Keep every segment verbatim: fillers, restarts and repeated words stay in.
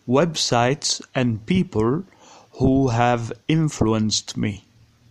websites and people who have influenced me.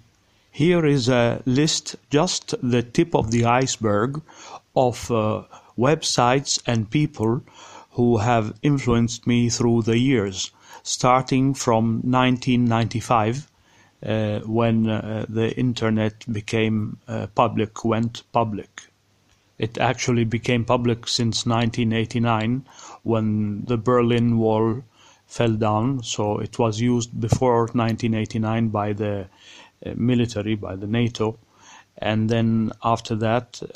Here is a list, just the tip of the iceberg, of uh, websites and people who have influenced me through the years, starting from nineteen ninety-five, uh, when uh, the internet became uh, public, went public. It actually became public since nineteen eighty-nine, when the Berlin Wall fell down, so it was used before nineteen eighty-nine by the uh, military, by the NATO, and then after that uh,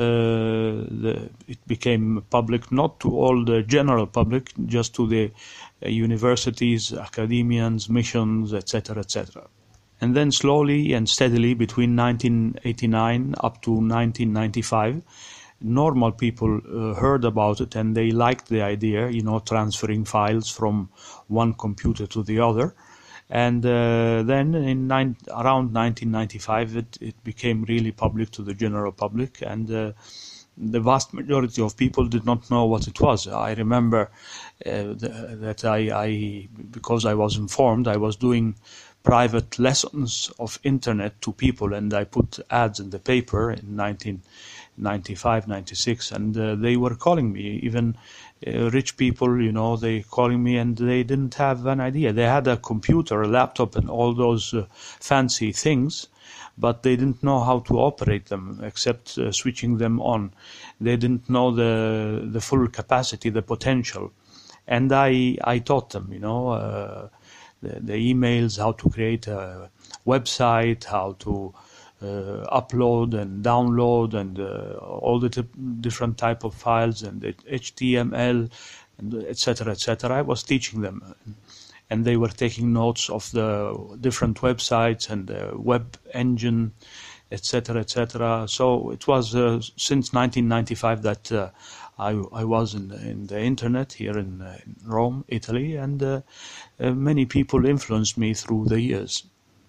the, it became public, not to all the general public, just to the uh, universities, academians, missions, et cetera, et cetera. And then slowly and steadily between nineteen eighty-nine up to nineteen ninety-five, normal people uh, heard about it and they liked the idea, you know, transferring files from one computer to the other. And uh, then in nine, around nineteen ninety-five, it, it became really public to the general public, and uh, the vast majority of people did not know what it was. I remember uh, the, that I, I, because I was informed, I was doing private lessons of internet to people, and I put ads in the paper in nineteen ninety-five, ninety-six, and uh, they were calling me, even uh, rich people, you know, they calling me, and they didn't have an idea. They had a computer, a laptop, and all those uh, fancy things, but they didn't know how to operate them except uh, switching them on. They didn't know the the full capacity, the potential, and I I taught them, you know, uh, the, the emails, how to create a website, how to Uh, upload and download, and uh, all the different type of files, and H T M L, and et cetera, et cetera. I was teaching them, and they were taking notes of the different websites and the web engine, et cetera, et cetera. So it was uh, since nineteen ninety-five that uh, I, I was in, in the internet here in, uh, in Rome, Italy, and uh, uh, many people influenced me through the years.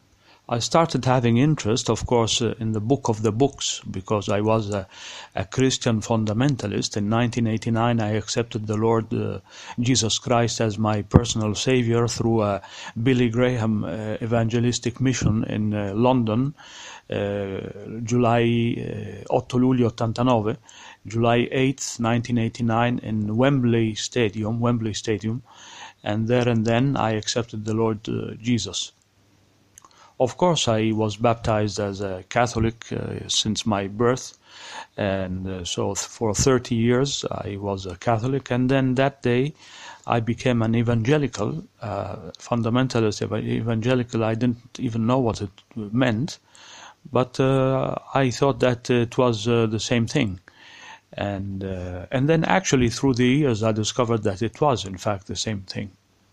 I started having interest, of course, uh, in the book of the books, because I was a, a Christian fundamentalist. In nineteen eighty-nine, I accepted the Lord uh, Jesus Christ as my personal savior through a Billy Graham uh, evangelistic mission in uh, London, uh, July uh, otto luglio ottantanove, July eighth, nineteen eighty-nine, in Wembley Stadium, Wembley Stadium, and there and then I accepted the Lord uh, Jesus. Of course, I was baptized as a Catholic uh, since my birth, and uh, so th- for thirty years I was a Catholic, and then that day I became an evangelical, uh, fundamentalist ev- evangelical. I didn't even know what it meant, but uh, I thought that it was uh, the same thing. And, uh, and then actually through the years I discovered that it was in fact the same thing.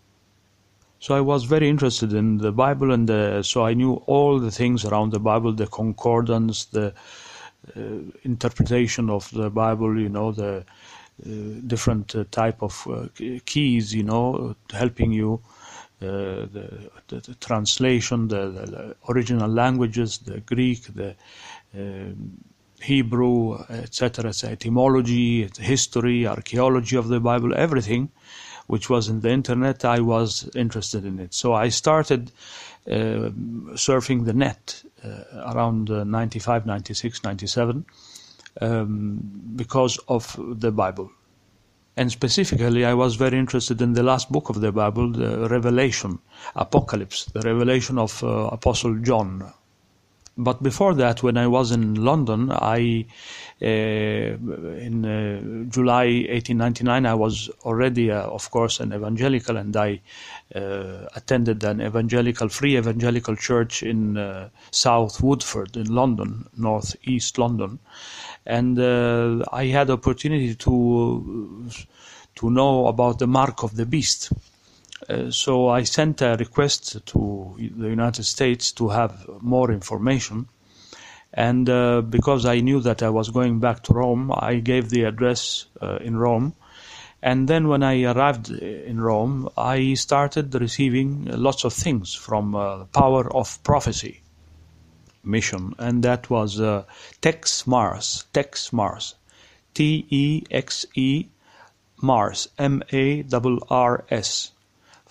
So I was very interested in the Bible, and uh, so I knew all the things around the Bible, the concordance, the uh, interpretation of the Bible, you know, the uh, different uh, type of uh, keys, you know, helping you, uh, the, the, the translation, the, the original languages, the Greek, the uh, Hebrew, et cetera, etymology, history, archaeology of the Bible, everything which was in the internet, I was interested in it. So I started uh, surfing the net uh, around uh, ninety-five, ninety-six, ninety-seven um, because of the Bible. And specifically, I was very interested in the last book of the Bible, the Revelation, Apocalypse, the revelation of uh, Apostle John. But before that, when I was in London, I uh, in uh, July eighteen ninety-nine, I was already, uh, of course, an evangelical, and I uh, attended an evangelical, free evangelical church in uh, South Woodford in London, North East London, and uh, I had opportunity to to know about the mark of the beast. Uh, so I sent a request to the United States to have more information, and uh, because I knew that I was going back to Rome, I gave the address uh, in Rome, and then when I arrived in Rome, I started receiving lots of things from uh, Power of Prophecy mission, and that was uh, Tex Mars, Tex Mars, T E X E Mars, M A R R S.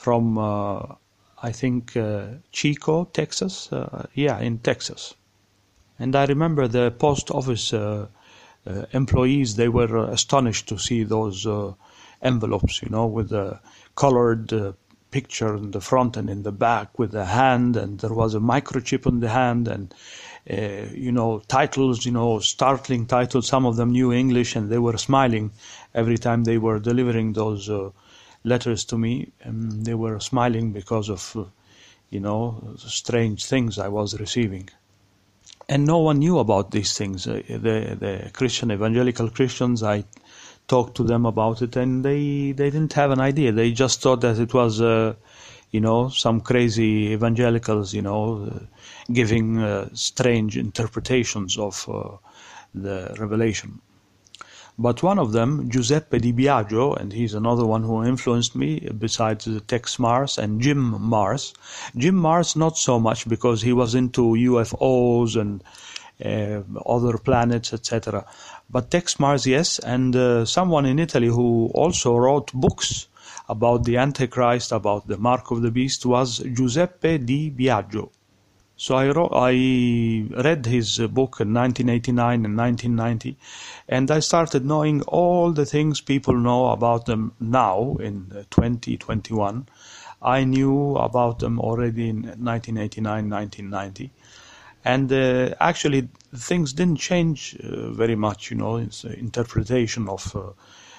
from, uh, I think, uh, Chico, Texas. Uh, yeah, in Texas. And I remember the post office uh, uh, employees, they were uh, astonished to see those uh, envelopes, you know, with the colored uh, picture in the front and in the back with the hand, and there was a microchip on the hand, and uh, you know, titles, you know, startling titles. Some of them knew English, and they were smiling every time they were delivering those uh, letters to me. And they were smiling because of, uh, you know, strange things I was receiving. And no one knew about these things. Uh, the the Christian evangelical Christians, I talked to them about it, and they they didn't have an idea. They just thought that it was, uh, you know, some crazy evangelicals, you know, uh, giving uh, strange interpretations of uh, the revelation. But one of them, Giuseppe Di Biagio, and he's another one who influenced me, besides Tex Mars and Jim Mars. Jim Mars, not so much, because he was into U F Os and uh, other planets, et cetera. But Tex Mars, yes, and uh, someone in Italy who also wrote books about the Antichrist, about the Mark of the Beast, was Giuseppe Di Biagio. So I, wrote, I read his book in nineteen eighty-nine and nineteen ninety, and I started knowing all the things people know about them now in twenty twenty-one. I knew about them already in nineteen eighty-nine, nineteen ninety. And uh, actually, things didn't change uh, very much, you know, it's the interpretation of uh,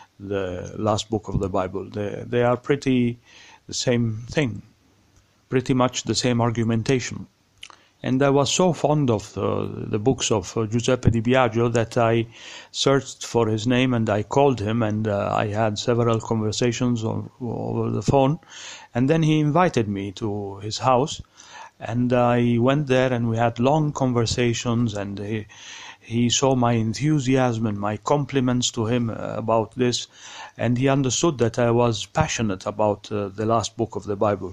the last book of the Bible. They, they are pretty the same thing, pretty much the same argumentation. And I was so fond of uh, the books of uh, Giuseppe Di Biagio that I searched for his name and I called him, and uh, I had several conversations on, over the phone. And then he invited me to his house, and I went there and we had long conversations, and he, he saw my enthusiasm and my compliments to him uh, about this, and he understood that I was passionate about uh, the last book of the Bible.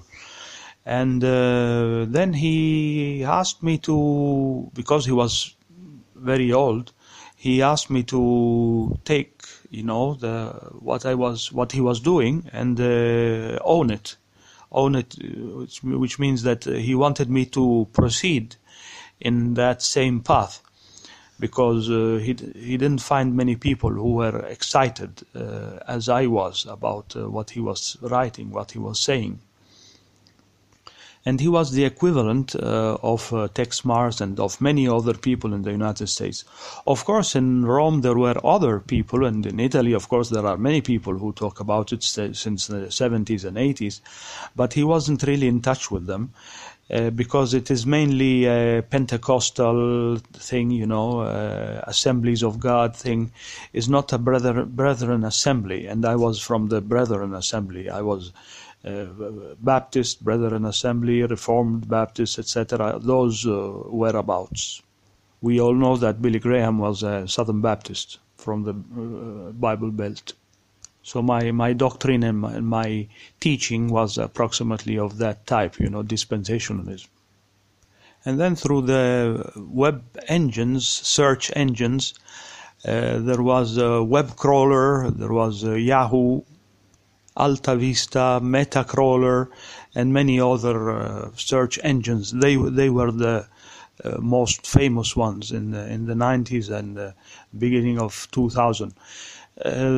And uh, then he asked me to, because he was very old, he asked me to take, you know, the what I was, what he was doing, and uh, own it, own it, which, which means that he wanted me to proceed in that same path, because uh, he he didn't find many people who were excited uh, as I was about uh, what he was writing, what he was saying. And he was the equivalent uh, of uh, Tex Mars and of many other people in the United States. Of course, in Rome there were other people, and in Italy, of course, there are many people who talk about it since the seventies and eighties, but he wasn't really in touch with them uh, because it is mainly a Pentecostal thing, you know, uh, Assemblies of God thing. Is not a brother, Brethren Assembly, and I was from the Brethren Assembly. I was Uh, Baptist, Brethren Assembly, Reformed Baptist, et cetera. Those uh, whereabouts. We all know that Billy Graham was a Southern Baptist from the uh, Bible Belt. So my, my doctrine and my, my teaching was approximately of that type, you know, dispensationalism. And then through the web engines, search engines, uh, there was a web crawler, there was a Yahoo, Alta Vista, Metacrawler, and many other uh, search engines. They they were the uh, most famous ones in the, in the nineties and the beginning of two thousand. Uh,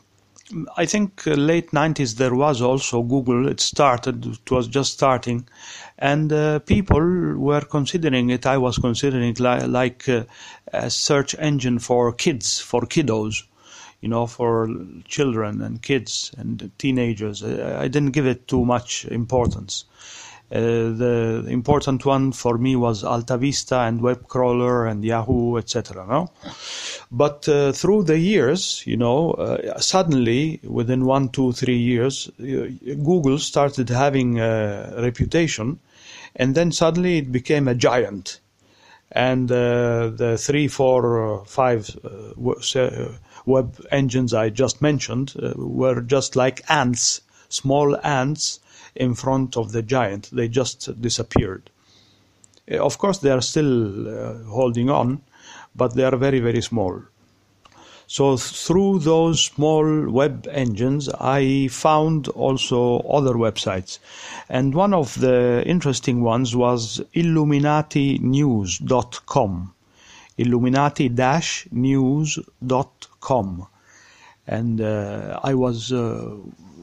I think uh, late nineties there was also Google. It started. It was just starting, and uh, people were considering it. I was considering it li- like uh, a search engine for kids, for kiddos. You know, for children and kids and teenagers. I didn't give it too much importance. Uh, the important one for me was Alta Vista and Webcrawler and Yahoo, et cetera. No? But uh, through the years, you know, uh, suddenly, within one, two, three years, uh, Google started having a reputation, and then suddenly it became a giant. And uh, the three, four, uh, five uh, web engines I just mentioned uh, were just like ants, small ants in front of the giant. They just disappeared. Uh, of course, they are still uh, holding on, but they are very, very small. So through those small web engines, I found also other websites. And one of the interesting ones was Illuminati News dot com. Illuminati News dot com. And uh, I was uh,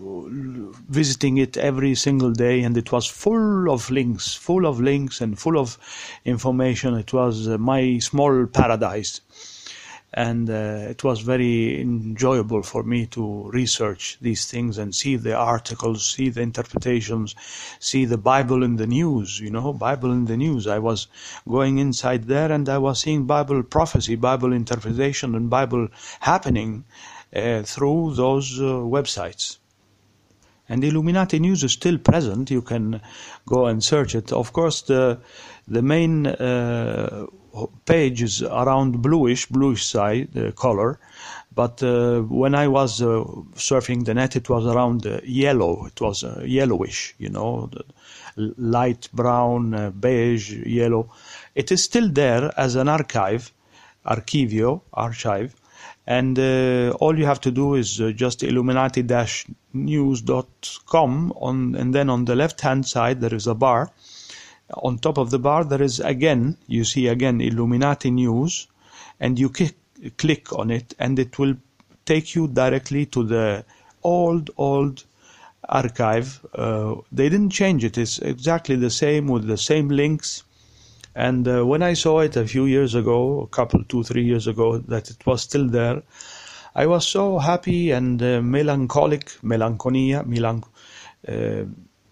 visiting it every single day, and it was full of links, full of links and full of information. It was uh, my small paradise. And uh, it was very enjoyable for me to research these things and see the articles, see the interpretations, see the Bible in the news, you know, Bible in the news. I was going inside there and I was seeing Bible prophecy, Bible interpretation, and Bible happening uh, through those uh, websites. And Illuminati News is still present. You can go and search it. Of course, the the main uh, page is around bluish, bluish side uh, color. But uh, when I was uh, surfing the net, it was around uh, yellow. It was uh, yellowish, you know, the light brown, uh, beige, yellow. It is still there as an archive, archivio, archive. And uh, all you have to do is uh, just Illuminati News dot com, on, and then on the left-hand side there is a bar. On top of the bar there is again, you see again Illuminati News, and you click, click on it and it will take you directly to the old, old archive. Uh, they didn't change it, it's exactly the same with the same links. And uh, when I saw it a few years ago, a couple, two, three years ago, that it was still there, I was so happy and uh, melancholic, melancholia, melanch uh,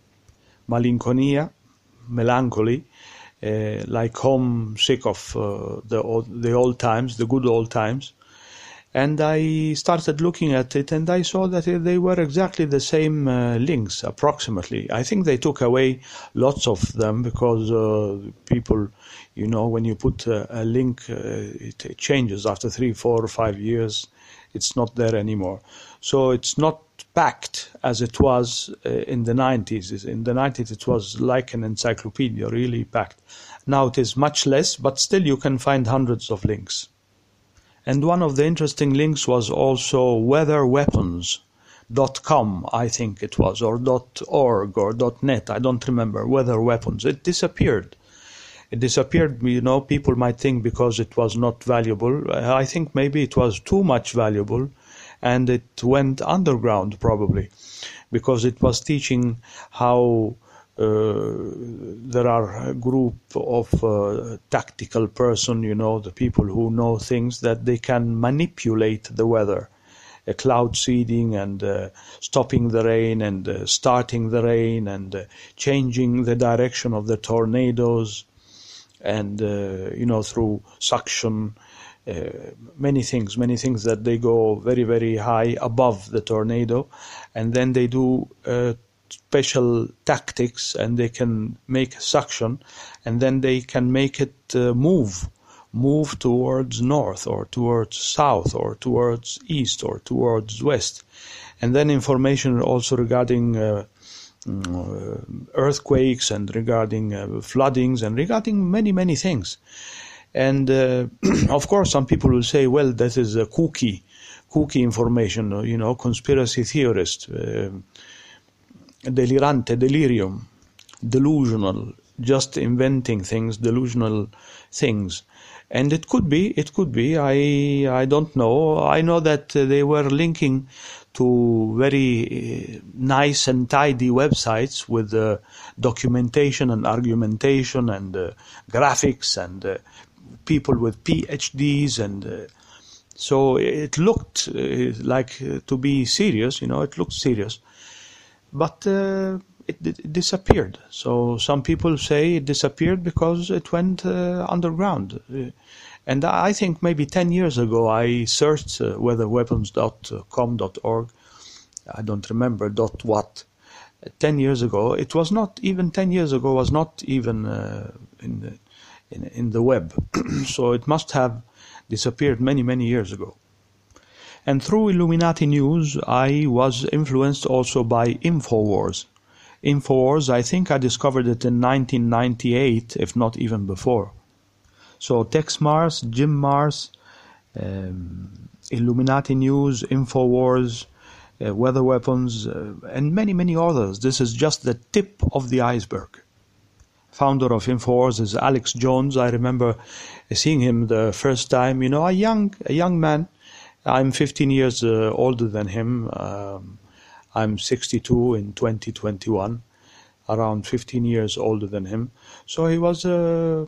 malinconia, melancholy, uh, like homesick of uh, the old, the old times, the good old times. And I started looking at it, and I saw that they were exactly the same uh, links, approximately. I think they took away lots of them because uh, people, you know, when you put a, a link, uh, it, it changes after three, four, or five years. It's not there anymore. So it's not packed as it was uh, in the nineties. In the nineties, it was like an encyclopedia, really packed. Now it is much less, but still you can find hundreds of links. And one of the interesting links was also weather weapons dot com, I think it was, or .org or .net, I don't remember, weather weapons. It disappeared. It disappeared, you know, people might think because it was not valuable. I think maybe it was too much valuable, and it went underground probably, because it was teaching how Uh, there are a group of uh, tactical person, you know, the people who know things, that they can manipulate the weather, uh, cloud seeding and uh, stopping the rain and uh, starting the rain and uh, changing the direction of the tornadoes, and, uh, you know, through suction, uh, many things, many things that they go very, very high above the tornado, and then they do uh, special tactics, and they can make suction, and then they can make it uh, move move towards north or towards south or towards east or towards west. And then information also regarding uh, uh, earthquakes and regarding uh, floodings and regarding many many things. And uh, of course some people will say, well, that is a kooky kooky information, you know, conspiracy theorist, uh, delirante, delirium, delusional, just inventing things, delusional things. And it could be, it could be, I I don't know. I know that uh, they were linking to very uh, nice and tidy websites with uh, documentation and argumentation and uh, graphics and uh, people with P H Ds, and uh, so it looked uh, like uh, to be serious, you know, it looked serious. But uh, it, it disappeared. So some people say it disappeared because it went uh, underground. Uh, and I think maybe ten years ago I searched uh, weather weapons dot com dot org. I don't remember dot what. Uh, ten years ago, it was not even ten years ago, was not even uh, in, the, in, in the web. So it must have disappeared many, many years ago. And through Illuminati News, I was influenced also by InfoWars. InfoWars, I think I discovered it in nineteen ninety-eight, if not even before. So Tex Mars, Jim Mars, um, Illuminati News, InfoWars, uh, Weather Weapons, uh, and many, many others. This is just the tip of the iceberg. Founder of InfoWars is Alex Jones. I remember seeing him the first time, you know, a young, a young man. I'm fifteen years uh, older than him. Um, I'm sixty-two in twenty twenty-one, around fifteen years older than him. So he was a,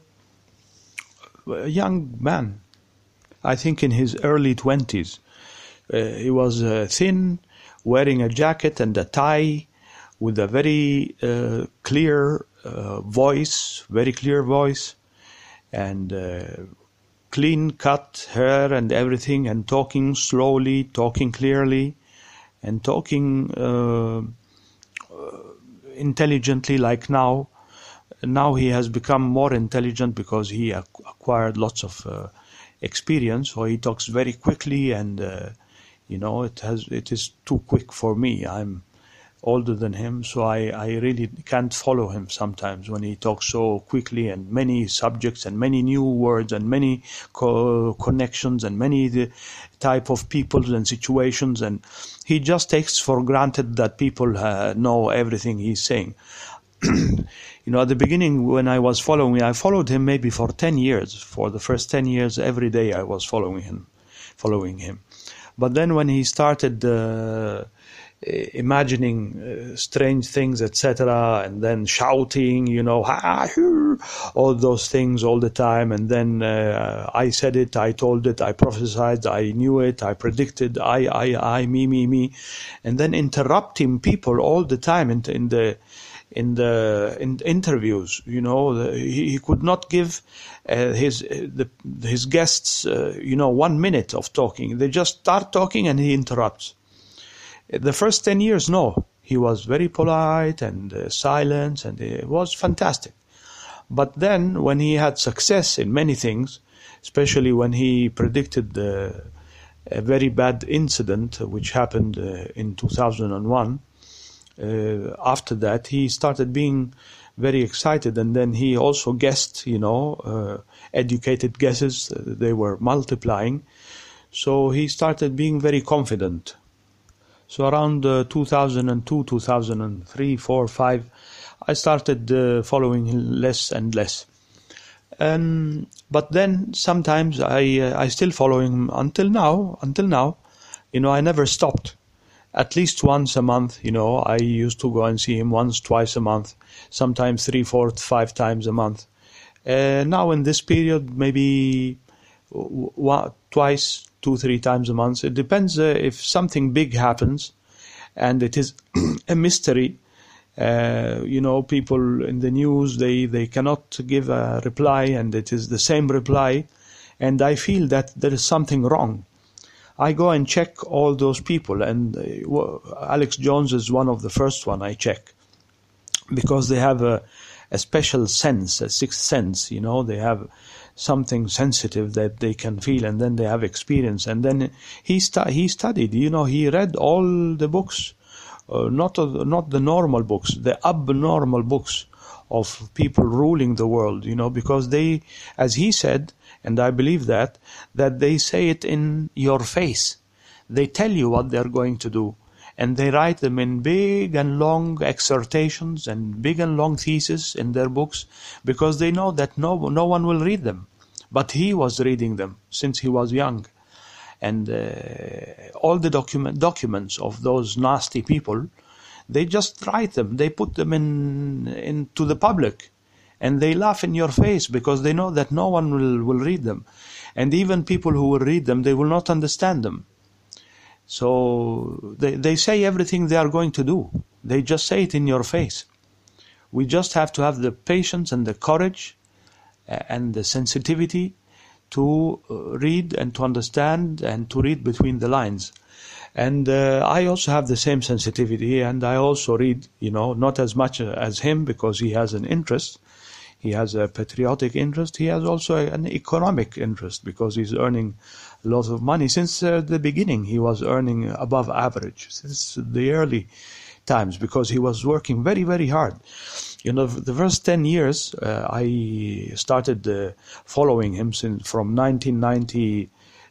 a young man, I think in his early twenties. Uh, he was uh, thin, wearing a jacket and a tie, with a very uh, clear uh, voice, very clear voice, and uh, clean-cut hair and everything, and talking slowly, talking clearly, and talking uh, uh, intelligently like now. Now he has become more intelligent because he ac- acquired lots of uh, experience, so he talks very quickly, and uh, you know, it has it is too quick for me. I'm older than him, so I, I really can't follow him sometimes when he talks so quickly, and many subjects and many new words and many co- connections and many the type of people and situations, and he just takes for granted that people uh, know everything he's saying. You know, at the beginning when I was following, I followed him maybe for ten years. For the first ten years, every day I was following him, following him. But then when he started uh, imagining uh, strange things, et cetera, and then shouting, you know, ha, hoo, all those things all the time, and then uh, I said it, I told it, I prophesied, I knew it, I predicted, I, I, I, me, me, me, and then interrupting people all the time in, in the in the in interviews. You know, the, he, he could not give uh, his uh, the, his guests, uh, you know, one minute of talking. They just start talking and he interrupts. The first ten years, no, he was very polite and uh, silent, and it was fantastic. But then, when he had success in many things, especially when he predicted the, a very bad incident which happened uh, in two thousand one, uh, after that he started being very excited, and then he also guessed, you know, uh, educated guesses, uh, they were multiplying, so he started being very confident. So around uh, two thousand two, two thousand three, four, five, I started uh, following him less and less. Um, but then sometimes I uh, I still follow him until now. Until now, you know, I never stopped. At least once a month, you know, I used to go and see him once, twice a month, sometimes three, four, five times a month. Uh, now in this period, maybe w- w- twice, two, three times a month. It depends uh, if something big happens and it is a mystery. Uh, you know, people in the news, they, they cannot give a reply, and it is the same reply. And I feel that there is something wrong. I go and check all those people, and uh, Alex Jones is one of the first one I check, because they have a, a special sense, a sixth sense, you know, they have something sensitive that they can feel, and then they have experience. And then he stu- he studied, you know, he read all the books, uh, not uh, not the normal books, the abnormal books of people ruling the world, you know, because they, as he said, and I believe that, that they say it in your face. They tell you what they're going to do, and they write them in big and long exhortations and big and long theses in their books, because they know that no no one will read them. But he was reading them since he was young. And uh, all the document, documents of those nasty people, they just write them, they put them in into the public. And they laugh in your face because they know that no one will, will read them. And even people who will read them, they will not understand them. So they, they say everything they are going to do. They just say it in your face. We just have to have the patience and the courage and the sensitivity to read and to understand and to read between the lines. And uh, I also have the same sensitivity, and I also read, you know, not as much as him because he has an interest. He has a patriotic interest. He has also an economic interest because he's earning a lot of money. Since uh, the beginning, he was earning above average, since the early times, because he was working very, very hard. You know, the first ten years, uh, I started uh, following him since from nineteen ninety,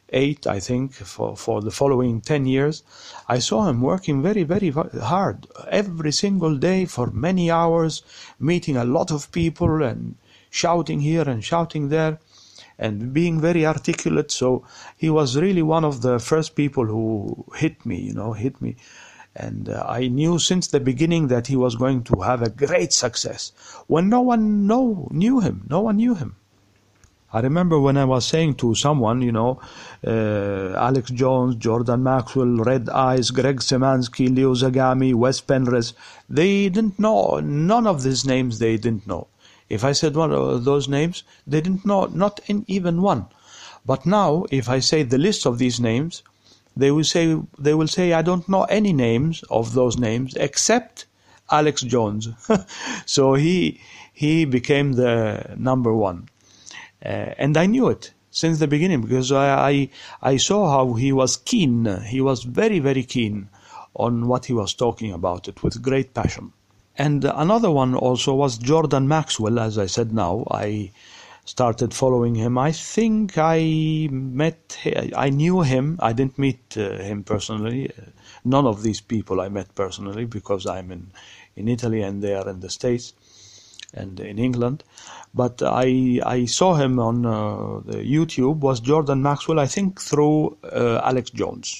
eight, I think, for, for the following ten years, I saw him working very, very hard every single day for many hours, meeting a lot of people and shouting here and shouting there and being very articulate. So he was really one of the first people who hit me, you know, hit me. And uh, I knew since the beginning that he was going to have a great success when no one know, knew him. No one knew him. I remember when I was saying to someone, you know, uh, Alex Jones, Jordan Maxwell, Red Eyes, Greg Szymanski, Leo Zagami, Wes Penrose, they didn't know, none of these names they didn't know. If I said one of those names, they didn't know, not in even one. But now, if I say the list of these names, they will say, they will say, I don't know any names of those names except Alex Jones. So he, he became the number one. Uh, and I knew it since the beginning because I, I I saw how he was keen. He was very, very keen on what he was talking about it with great passion. And another one also was Jordan Maxwell, as I said now. I started following him. I think I met, I knew him. I didn't meet uh, him personally. None of these people I met personally because I'm in, in Italy and they are in the States and in England. But I I saw him on uh, the YouTube, was Jordan Maxwell, I think through uh, Alex Jones.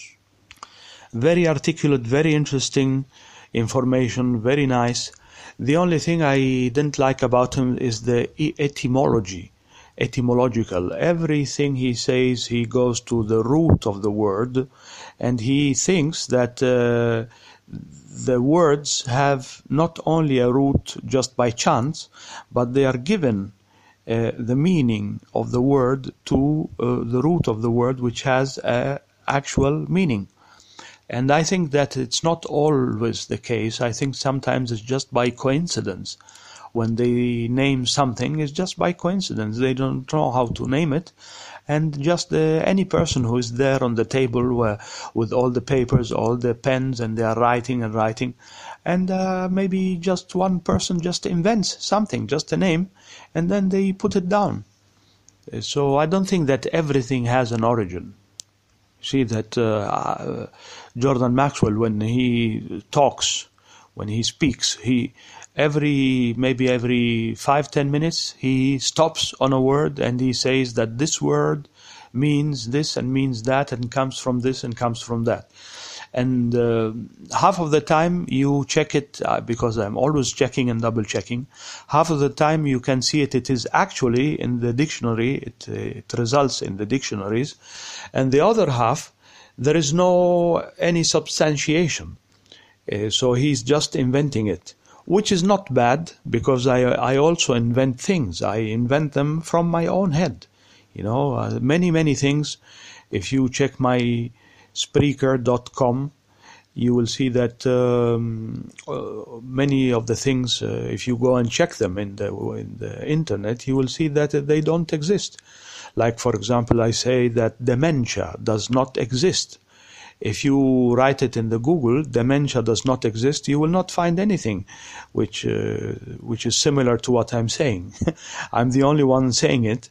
Very articulate, very interesting information, very nice. The only thing I didn't like about him is the etymology, etymological. Everything he says, he goes to the root of the word, and he thinks that uh, the words have not only a root just by chance, but they are given uh, the meaning of the word to uh, the root of the word, which has an actual meaning. And I think that it's not always the case. I think sometimes it's just by coincidence. When they name something, it's just by coincidence. They don't know how to name it. And just uh, any person who is there on the table where, with all the papers, all the pens, and they are writing and writing. And uh, maybe just one person just invents something, just a name, and then they put it down. So I don't think that everything has an origin. See that uh, Jordan Maxwell, when he talks, when he speaks, he every maybe every five ten minutes he stops on a word and he says that this word means this and means that and comes from this and comes from that. And uh, half of the time you check it, uh, because I'm always checking and double checking. Half of the time you can see it. It is actually in the dictionary. It, uh, it results in the dictionaries, and the other half there is no any substantiation. Uh, so he's just inventing it, which is not bad because I I also invent things. I invent them from my own head. You know, uh, many many things. If you check my Spreaker dot com, you will see that um, uh, many of the things, uh, if you go and check them in the, in the internet, you will see that they don't exist. Like, for example, I say that dementia does not exist. If you write it in the Google, dementia does not exist, you will not find anything which uh, which is similar to what I'm saying. I'm the only one saying it,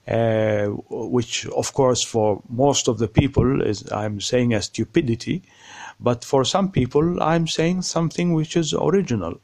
uh, which, of course, for most of the people is I'm saying a stupidity, but for some people I'm saying something which is original.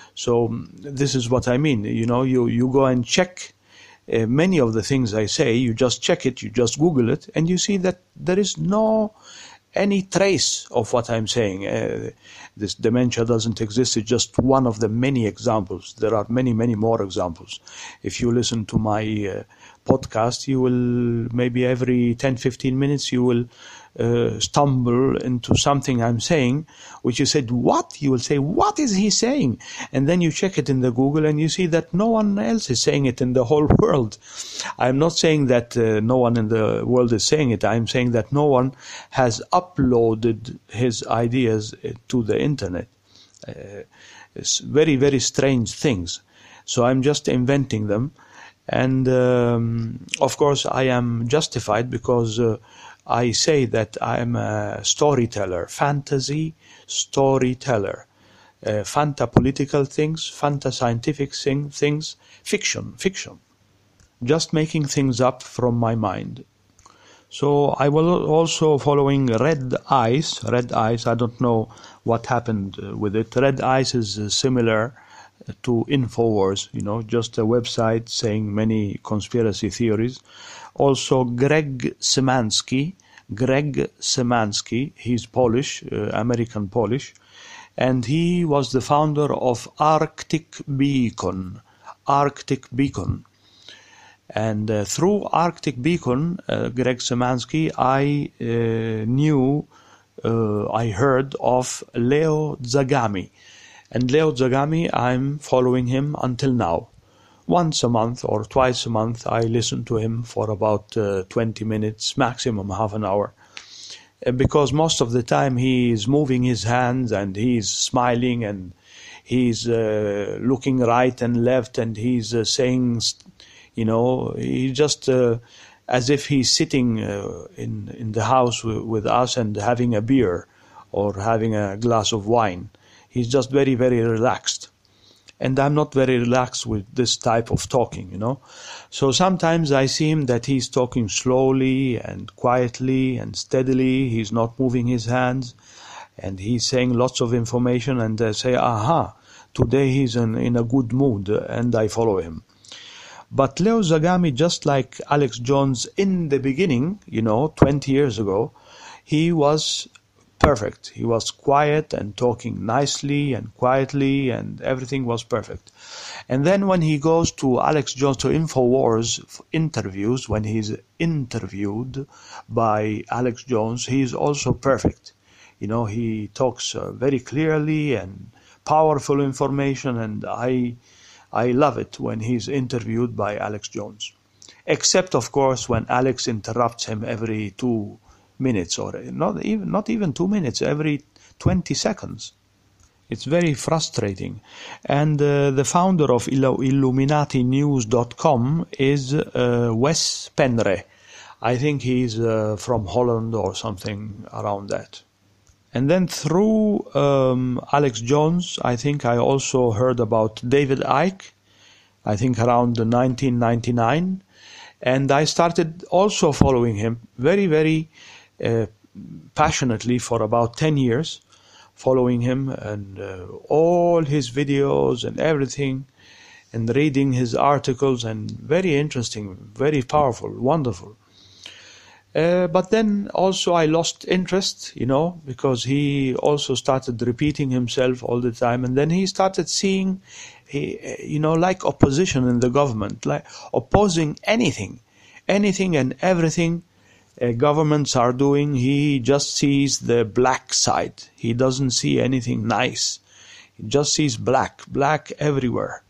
So this is what I mean. You know, you, you go and check uh, many of the things I say, you just check it, you just Google it, and you see that there is no any trace of what I'm saying. Uh, this dementia doesn't exist. It's just one of the many examples. There are many, many more examples. If you listen to my uh, podcast, you will maybe every ten, fifteen minutes, you will uh, stumble into something I'm saying, which you said, what? You will say, what is he saying? And then you check it in the Google and you see that no one else is saying it in the whole world. I'm not saying that uh, no one in the world is saying it. I'm saying that no one has uploaded his ideas to the internet. Uh, it's very, very strange things. So I'm just inventing them. And um, of course I am justified because uh, I say that I am a storyteller, fantasy storyteller, uh, fanta-political things, fanta-scientific thing, things, fiction, fiction. Just making things up from my mind. So I was also following Red Ice. Red Ice, I don't know what happened with it. Red Ice is uh, similar to InfoWars, you know, just a website saying many conspiracy theories. Also Greg Szymanski, Greg Szymanski, he's Polish, uh, American Polish, and he was the founder of Arctic Beacon, Arctic Beacon. And uh, through Arctic Beacon, uh, Greg Szymanski, I uh, knew, uh, I heard of Leo Zagami. And Leo Zagami, I'm following him until now. Once a month or twice a month, I listen to him for about uh, twenty minutes, maximum half an hour. Uh, because most of the time he is moving his hands and he's smiling and he's uh, looking right and left and he's uh, saying, you know, he just uh, as if he's sitting uh, in, in the house w- with us and having a beer or having a glass of wine. He's just very, very relaxed. And I'm not very relaxed with this type of talking, you know. So sometimes I see him that he's talking slowly and quietly and steadily. He's not moving his hands. And he's saying lots of information. And I say, aha, today he's in, in a good mood. And I follow him. But Leo Zagami, just like Alex Jones in the beginning, you know, twenty years ago, he was perfect. He was quiet and talking nicely and quietly and everything was perfect. And then when he goes to Alex Jones, to InfoWars interviews, when he's interviewed by Alex Jones, he's also perfect. You know, he talks uh, very clearly and powerful information, and I, I love it when he's interviewed by Alex Jones. Except, of course, when Alex interrupts him every two minutes, or not even not even two minutes, every twenty seconds. It's very frustrating. And uh, the founder of Illuminati News dot com is uh, Wes Penre. I think he's uh, from Holland or something around that. And then through um, Alex Jones, I think I also heard about David Icke, I think around nineteen ninety-nine. And I started also following him very, very Uh, passionately for about ten years, following him and uh, all his videos and everything, and reading his articles, and very interesting, very powerful, wonderful. Uh, but then also I lost interest, you know, because he also started repeating himself all the time, and then he started seeing, he, you know, like opposition in the government, like opposing anything, anything and everything Uh, governments are doing. He just sees the black side. He doesn't see anything nice. He just sees black, black everywhere.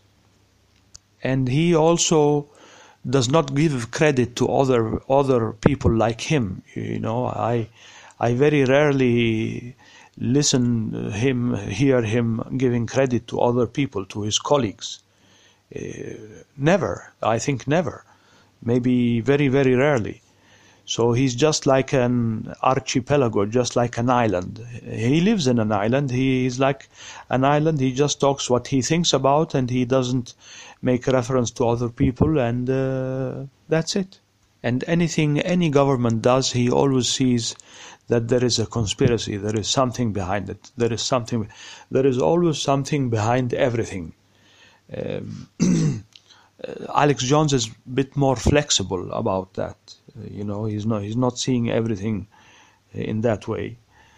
And he also does not give credit to other other people like him. You know, I I very rarely listen him, hear him giving credit to other people, to his colleagues. Uh, never. I think never. Maybe very, very rarely. So he's just like an archipelago, just like an island. He lives in an island. He is like an island. He just talks what he thinks about, and he doesn't make reference to other people, and uh, that's it. And anything any government does, he always sees that there is a conspiracy. There is something behind it. There is something. There is always something behind everything. Um, Alex Jones is a bit more flexible about that. You know, he's not he's not seeing everything in that way.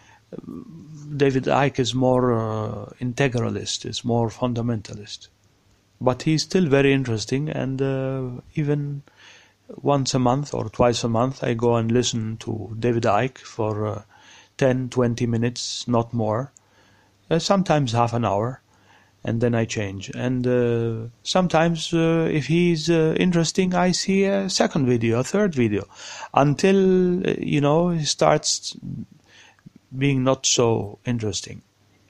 David Icke is more uh, integralist, is more fundamentalist. But he's still very interesting, and uh, even once a month or twice a month I go and listen to David Icke for uh, ten, twenty minutes, not more. Uh, sometimes half an hour. And then I change. And uh, sometimes, uh, if he's uh, interesting, I see a second video, a third video, until, uh, you know, he starts being not so interesting.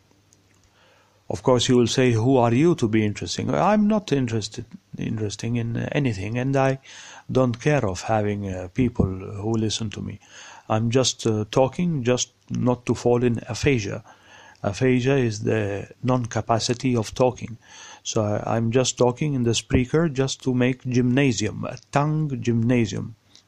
Of course, you will say, who are you to be interesting? I'm not interested, interesting in anything, and I don't care of having uh, people who listen to me. I'm just uh, talking, just not to fall in aphasia. Aphasia is the non-capacity of talking. So I, I'm just talking in the speaker just to make gymnasium, a tongue gymnasium.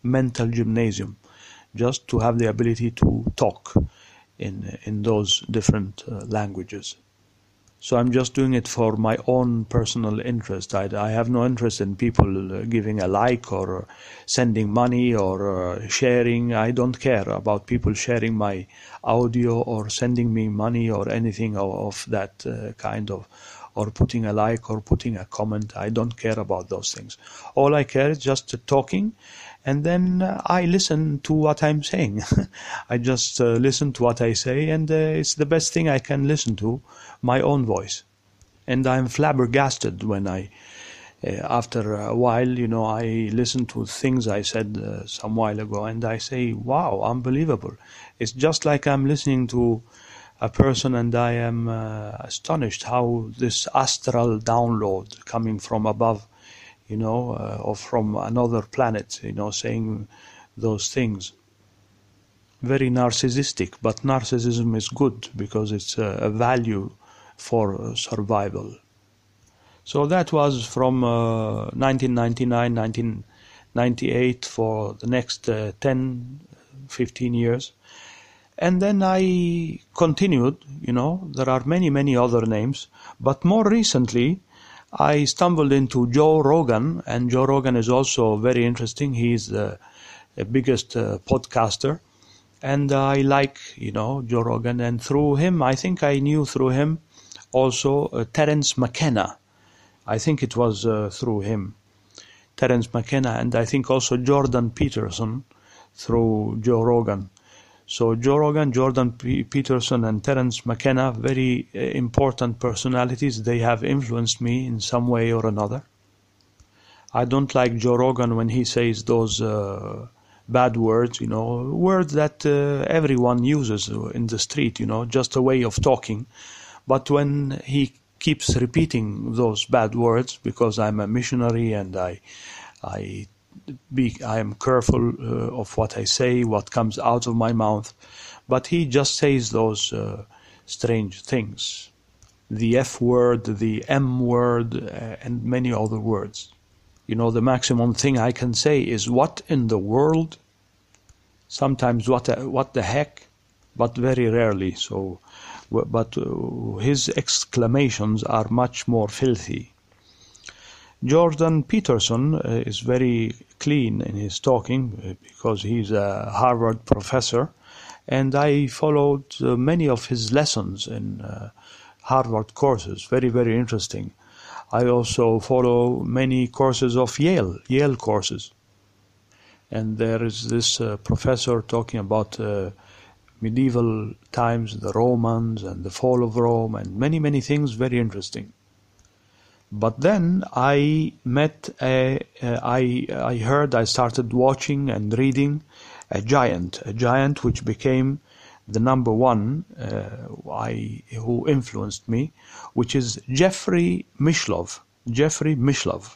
mental gymnasium, just to have the ability to talk in in those different uh, languages. So I'm just doing it for my own personal interest. I, I have no interest in people uh, giving a like or uh, sending money or uh, sharing. I don't care about people sharing my audio or sending me money or anything of, of that uh, kind of, or putting a like or putting a comment. I don't care about those things. All I care is just uh, talking, and then uh, I listen to what I'm saying. I just uh, listen to what I say, and uh, it's the best thing I can listen to, my own voice. And I'm flabbergasted when I, uh, after a while, you know, I listen to things I said uh, some while ago, and I say, wow, unbelievable. It's just like I'm listening to a person, and I am uh, astonished how this astral download coming from above, you know, uh, or from another planet, you know, saying those things. Very narcissistic, but narcissism is good because it's a, a value for uh, survival. So that was from uh, nineteen ninety-nine, nineteen ninety-eight for the next uh, ten, fifteen years. And then I continued, you know, there are many, many other names, but more recently I stumbled into Joe Rogan, and Joe Rogan is also very interesting. He's the, the biggest uh, podcaster, and I like, you know, Joe Rogan, and through him, I think I knew through him also uh, Terence McKenna. I think it was uh, through him, Terence McKenna, and I think also Jordan Peterson through Joe Rogan. So Joe Rogan, Jordan P- Peterson, and Terence McKenna, very uh, important personalities. They have influenced me in some way or another. I don't like Joe Rogan when he says those uh, bad words, you know, words that uh, everyone uses in the street, you know, just a way of talking. But when he keeps repeating those bad words, because I'm a missionary and I, I Be, I am careful uh, of what I say, what comes out of my mouth, but he just says those uh, strange things. The F word, the M word, uh, and many other words. You know, the maximum thing I can say is, what in the world? Sometimes what, uh, what the heck? But very rarely. So, but uh, his exclamations are much more filthy. Jordan Peterson uh, is very clean in his talking uh, because he's a Harvard professor, and I followed uh, many of his lessons in uh, Harvard courses. Very, very interesting. I also follow many courses of Yale, Yale courses. And there is this uh, professor talking about uh, medieval times, the Romans and the fall of Rome, and many, many things very interesting. But then I met, a, uh, I, I heard, I started watching and reading a giant, a giant which became the number one uh, I, who influenced me, which is Jeffrey Mishlove. Jeffrey Mishlove.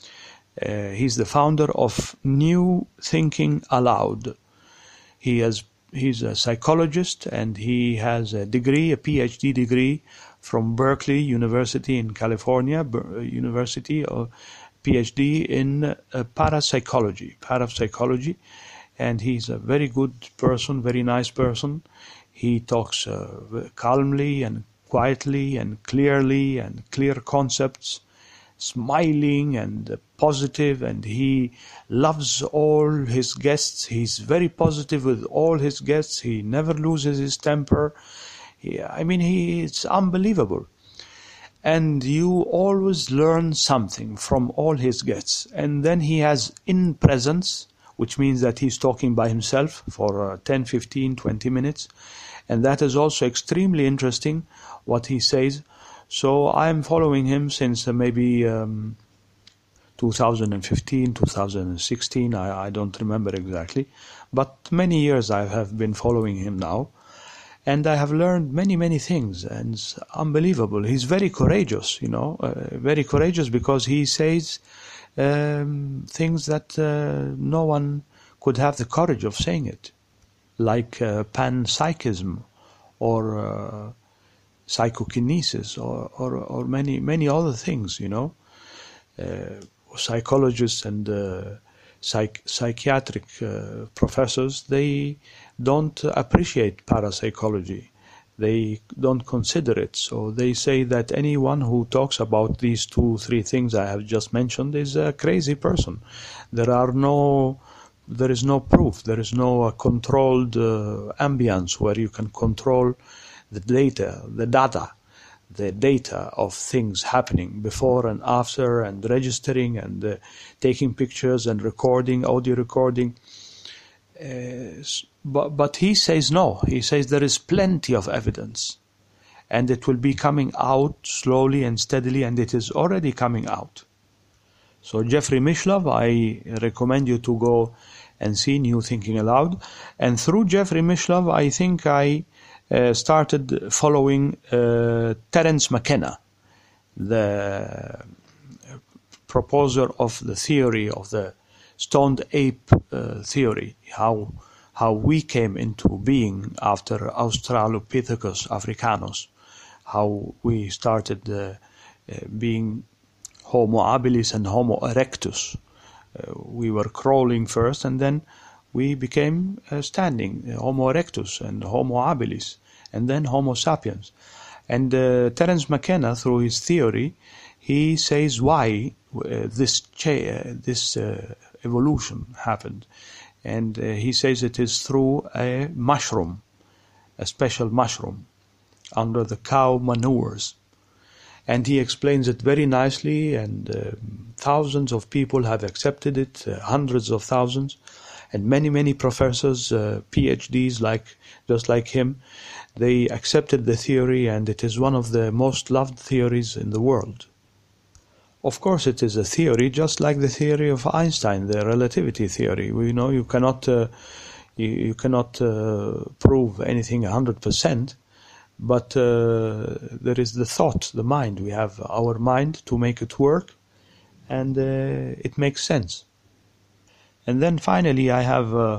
Uh, he's the founder of New Thinking Aloud. He has, he's a psychologist, and he has a degree, a P H D degree, from Berkeley University in California, Ber- University, or P H D in uh, parapsychology, parapsychology, and he's a very good person, very nice person. He talks uh, calmly and quietly and clearly and clear concepts, smiling and uh, positive, and he loves all his guests. He's very positive with all his guests. He never loses his temper. I mean, he, it's unbelievable. And you always learn something from all his guests. And then he has in presence, which means that he's talking by himself for uh, ten, fifteen, twenty minutes. And that is also extremely interesting, what he says. So I'm following him since uh, maybe um, two thousand fifteen, two thousand sixteen, I, I don't remember exactly. But many years I have been following him now. And I have learned many, many things, and it's unbelievable. He's very courageous, you know, uh, very courageous because he says um, things that uh, no one could have the courage of saying it, like uh, panpsychism or uh, psychokinesis or, or, or many, many other things, you know. Uh, psychologists and uh, psych psychiatric uh, professors, they don't appreciate parapsychology. They don't consider it. So they say that anyone who talks about these two, three things I have just mentioned is a crazy person. There are no, there is no proof. There is no uh, controlled uh, ambience where you can control the data, the data, the data of things happening before and after, and registering and uh, taking pictures and recording, audio recording. Uh, but, but he says no. He says there is plenty of evidence, and it will be coming out slowly and steadily, and it is already coming out. So Jeffrey Mishlove, I recommend you to go and see New Thinking Aloud. And through Jeffrey Mishlove, I think I uh, started following uh, Terence McKenna, the proposer of the theory of the stoned ape uh, theory, how how we came into being after Australopithecus africanus, how we started uh, uh, being Homo habilis and Homo erectus. Uh, we were crawling first, and then we became uh, standing, uh, Homo erectus and Homo habilis, and then Homo sapiens. And uh, Terence McKenna, through his theory, he says why uh, this cha uh, this uh, evolution happened, and uh, he says it is through a mushroom, a special mushroom under the cow manures, and he explains it very nicely, and uh, thousands of people have accepted it, uh, hundreds of thousands, and many many professors, uh, PhDs like just like him, they accepted the theory, and it is one of the most loved theories in the world. Of course, it is a theory, just like the theory of Einstein, the relativity theory. We know you cannot, uh, you, you cannot uh, prove anything a hundred percent, but uh, there is the thought, the mind. We have our mind to make it work, and uh, it makes sense. And then finally, I have uh,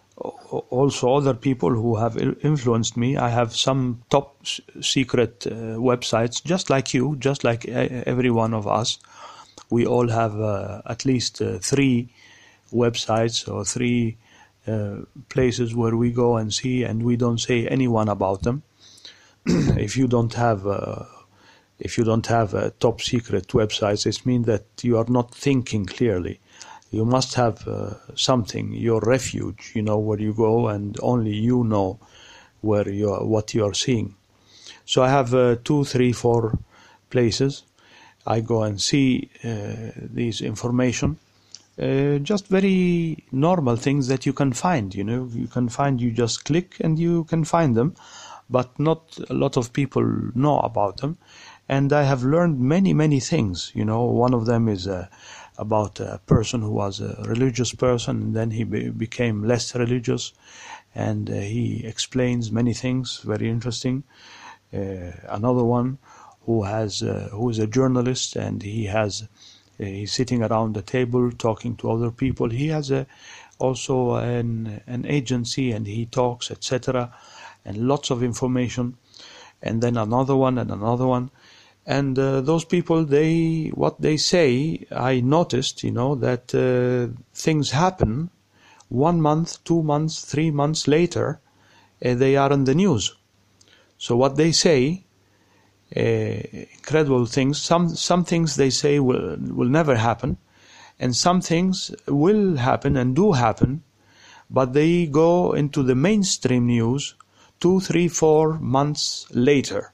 also other people who have influenced me. I have some top secret uh, websites, just like you, just like every one of us. We all have uh, at least uh, three websites or three uh, places where we go and see, and we don't say anyone about them. If you don't have, uh, if you don't have uh, top secret websites, it means that you are not thinking clearly. You must have uh, something, your refuge, you know, where you go and only you know where you are, what you are seeing. So I have uh, two, three, four places. I go and see uh, these information, uh, just very normal things that you can find, you know, you can find, you just click and you can find them, but not a lot of people know about them. And I have learned many, many things, you know. One of them is uh, about a person who was a religious person, and then he be became less religious, and uh, he explains many things, very interesting. Uh, another one who has uh, who is a journalist, and he has uh, he's sitting around the table talking to other people. He has a, also an an agency, and he talks, et cetera, and lots of information. And then another one and another one. And uh, those people, they what they say, I noticed, you know, that uh, things happen one month, two months, three months later, uh, they are in the news. So what they say, uh, incredible things. Some some things they say will will never happen, and some things will happen and do happen, but they go into the mainstream news two, three, four months later.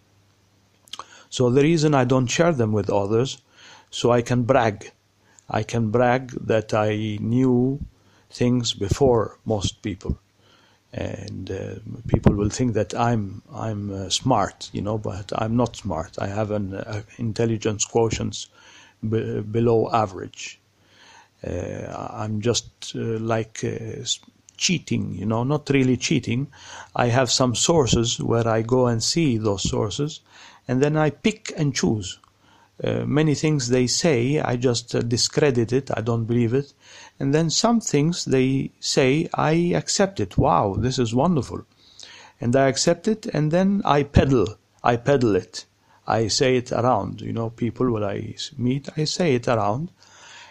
So the reason I don't share them with others, so I can brag. I can brag that I knew things before most people. And uh, people will think that I'm I'm uh, smart, you know, but I'm not smart. I have an uh, intelligence quotient b below average. Uh, I'm just uh, like uh, cheating, you know, not really cheating. I have some sources where I go and see those sources, and then I pick and choose. Uh, many things they say, I just uh, discredit it, I don't believe it. And then some things they say, I accept it. Wow, this is wonderful. And I accept it, and then I peddle. I peddle it. I say it around. You know, people when I meet, I say it around.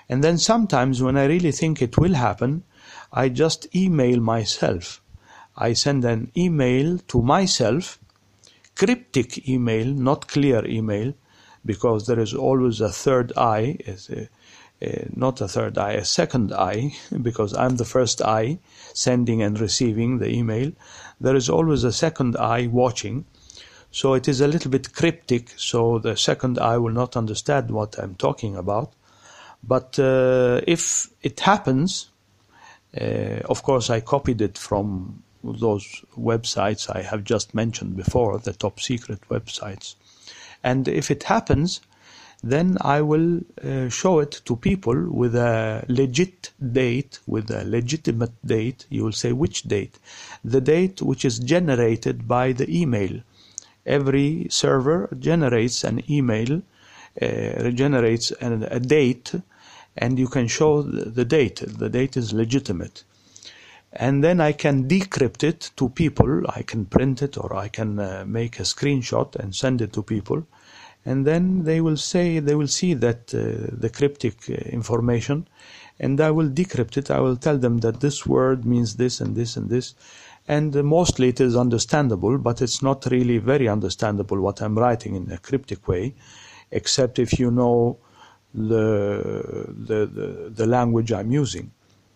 And then sometimes when I really think it will happen, I just email myself. I send an email to myself, cryptic email, not clear email, because there is always a third eye, a, a, not a third eye, a second eye, because I'm the first eye sending and receiving the email. There is always a second eye watching. So it is a little bit cryptic, so the second eye will not understand what I'm talking about. But uh, if it happens, uh, of course I copied it from those websites I have just mentioned before, the top secret websites. And if it happens, then I will uh, show it to people with a legit date, with a legitimate date. You will say, which date? The date which is generated by the email. Every server generates an email, uh, generates an, a date, and you can show the, the date. The date is legitimate. And then I can decrypt it to people. I can print it, or I can uh, make a screenshot and send it to people. And then they will say, they will see that uh, the cryptic uh, information, and I will decrypt it. I will tell them that this word means this and this and this. And uh, mostly it is understandable, but it's not really very understandable what I'm writing in a cryptic way, except if you know the the the, the language I'm using.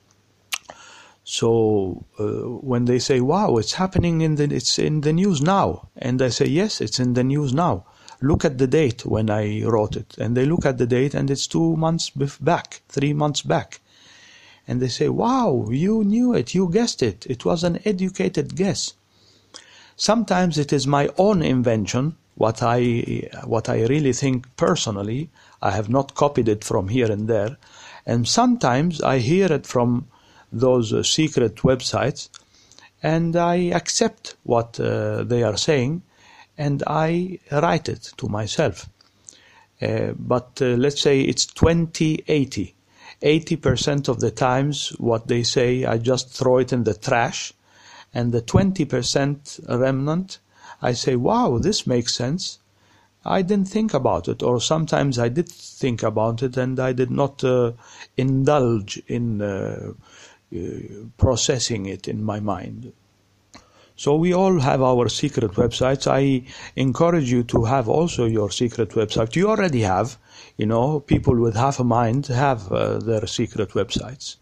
So uh, when they say, wow, it's happening in the, it's in the news now. And I say, yes, it's in the news now. Look at the date when I wrote it. And they look at the date and it's two months back, three months back. And they say, wow, you knew it, you guessed it. It was an educated guess. Sometimes it is my own invention, what I, what I really think personally. I have not copied it from here and there. And sometimes I hear it from those uh, secret websites, and I accept what uh, they are saying, and I write it to myself. Uh, but uh, let's say it's twenty eighty. eighty percent of the times what they say, I just throw it in the trash, and the twenty percent remnant, I say, wow, this makes sense. I didn't think about it, or sometimes I did think about it, and I did not uh, indulge in uh, Uh, processing it in my mind. So we all have our secret websites. I encourage you to have also your secret website. You already have, you know, people with half a mind have uh, their secret websites.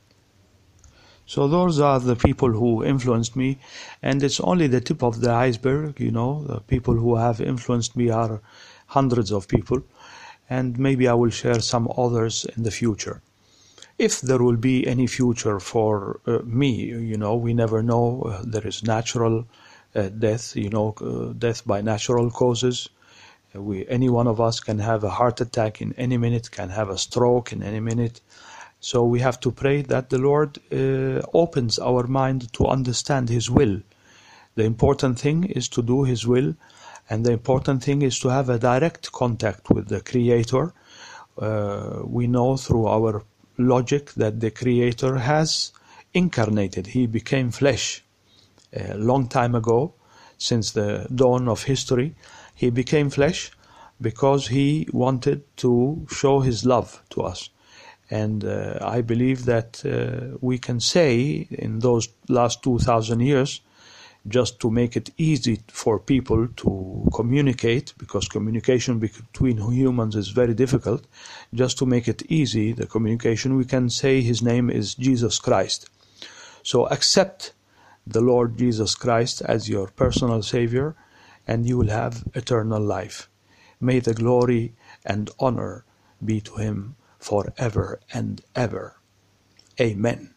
So those are the people who influenced me, and it's only the tip of the iceberg, you know. The people who have influenced me are hundreds of people, and maybe I will share some others in the future. If there will be any future for uh, me, you know, we never know. Uh, there is natural uh, death, you know, uh, death by natural causes. Uh, we, any one of us can have a heart attack in any minute, can have a stroke in any minute. So we have to pray that the Lord uh, opens our mind to understand His will. The important thing is to do His will, and the important thing is to have a direct contact with the Creator. Uh, we know through our logic that the Creator has incarnated. He became flesh a long time ago, since the dawn of history. He became flesh because He wanted to show His love to us. And uh, I believe that uh, we can say in those last two thousand years, just to make it easy for people to communicate, because communication between humans is very difficult, just to make it easy, the communication, we can say His name is Jesus Christ. So accept the Lord Jesus Christ as your personal Savior, and you will have eternal life. May the glory and honor be to Him forever and ever. Amen.